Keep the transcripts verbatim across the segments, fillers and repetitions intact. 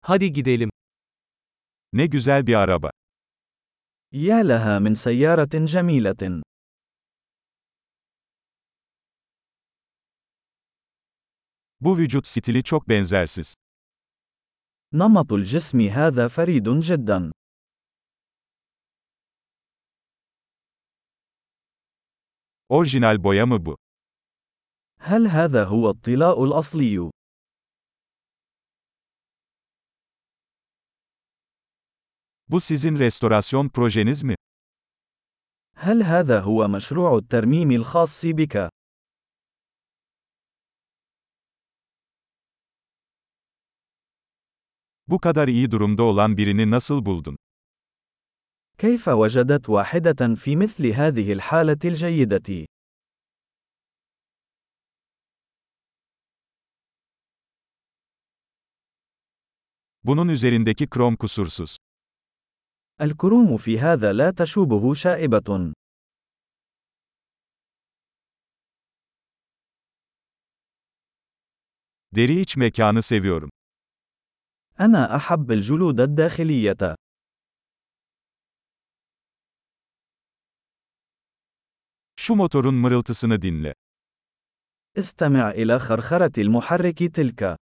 Hadi gidelim. Ne güzel bir araba. يا لها من سيارة جميلة. Bu vücut stili çok benzersiz. نمط الجسم هذا فريد جدا. Orijinal boya mı bu? هل هذا هو الطلاء الأصلي؟ Bu sizin restorasyon projeniz mi? هل هذا هو مشروع الترميم الخاص بك؟ Bu kadar iyi durumda olan birini nasıl buldun? كيف وجدت واحدة في مثل هذه الحالة الجيدة؟ Bunun üzerindeki krom kusursuz. الكروم في هذا لا تشوبه شائبة. Deri iç mekanı seviyorum. أنا أحب الجلود الداخلية. Şu motorun mırıltısını dinle. استمع إلى خرخرة المحرك تلك.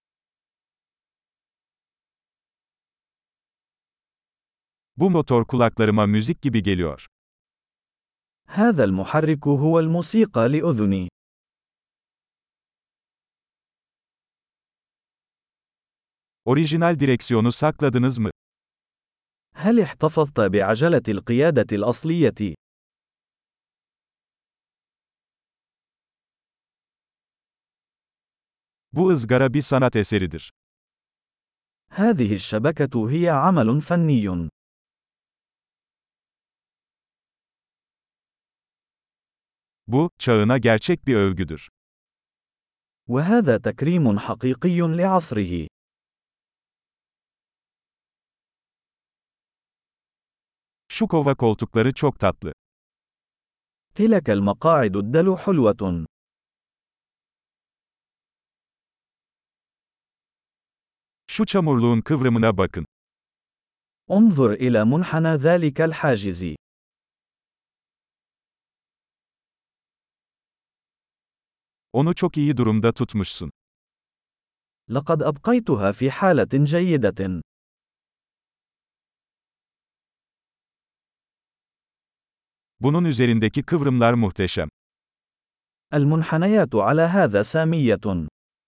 Bu motor kulaklarıma müzik gibi geliyor. هذا المحرك هو الموسيقى لأذني. Orijinal direksiyonu sakladınız mı? هل احتفظت بعجلة القيادة الأصلية؟ Bu ızgara bir sanat eseridir. هذه الشبكة هي عمل فني. Bu, çağına gerçek bir övgüdür. وهذا تكريم حقيقي لعصره. Şu kova koltukları çok tatlı. تلك المقاعد الدلو حلوة. Şu çamurluğun kıvrımına bakın. انظر إلى منحنى ذلك الحاجز. Onu çok iyi durumda tutmuşsun. لقد أبقيتها في حالة جيدة. Bunun üzerindeki kıvrımlar muhteşem. المنحنيات على هذا سامية.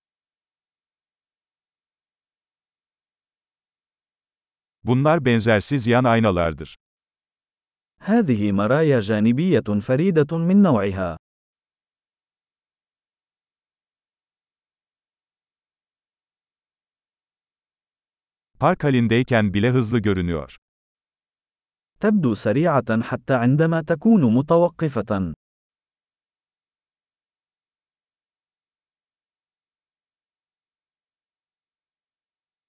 Bunlar benzersiz yan aynalardır. هذه مرايا جانبية فريدة من نوعها. Park halindeyken bile hızlı görünüyor. تبدو سريعة حتى عندما تكون متوقفة.